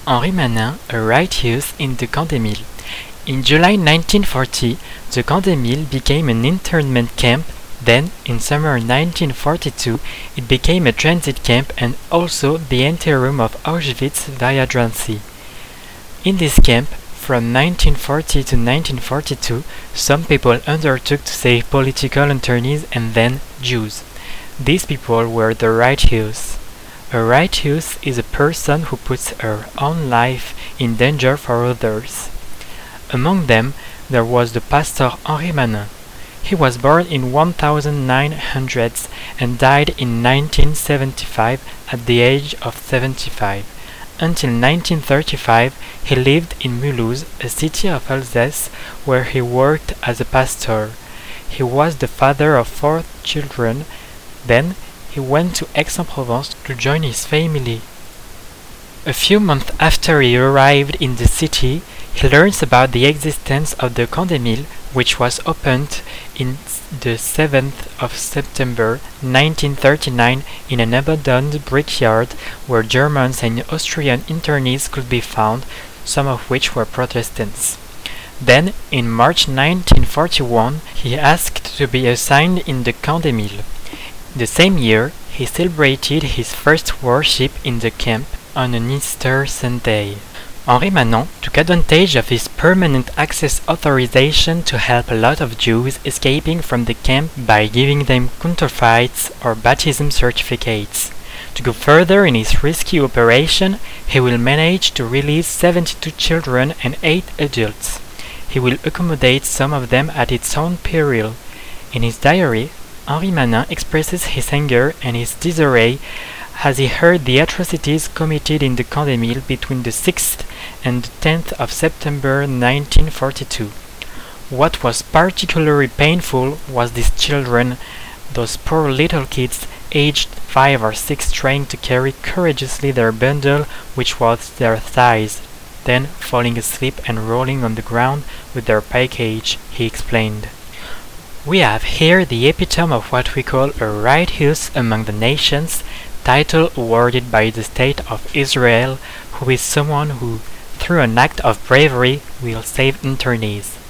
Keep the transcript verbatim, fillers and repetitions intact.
Henri Manin, a righteous in the Camp des Milles. In July nineteen forty, the Camp des Milles became an internment camp. Then, in summer nineteen forty-two, it became a transit camp and also the anteroom of Auschwitz via Drancy. In this camp, from nineteen forty to nineteen forty-two, some people undertook to save political internees and then Jews. These people were the righteous. A righteous is a person who puts her own life in danger for others. Among them, there was the pastor Henri Manin. He was born in nineteen hundred and died in nineteen seventy-five at the age of seventy-five. Until nineteen thirty-five, he lived in Mulhouse, a city of Alsace, where he worked as a pastor. He was the father of four children. Then, he went to Aix-en-Provence to join his family. A few months after he arrived in the city, he learns about the existence of the Camp des Milles, which was opened in the seventh of September nineteen thirty-nine in an abandoned brickyard where Germans and Austrian internees could be found, some of which were Protestants. Then, in March nineteen forty-one, he asked to be assigned in the Camp des Milles. The same year, he celebrated his first worship in the camp on an Easter Sunday. Henri Manin took advantage of his permanent access authorization to help a lot of Jews escaping from the camp by giving them counterfeits or baptism certificates. To go further in his rescue operation, he will manage to release seventy-two children and eight adults. He will accommodate some of them at its own peril. In his diary, Henri Manin expresses his anger and his disarray as he heard the atrocities committed in the Camp des Milles between the sixth and the tenth of September nineteen forty-two. What was particularly painful was these children, those poor little kids aged five or six trying to carry courageously their bundle which was their thighs, then falling asleep and rolling on the ground with their package, he explained. We have here the epitome of what we call a righteous among the nations, title awarded by the State of Israel, who is someone who, through an act of bravery, will save internees.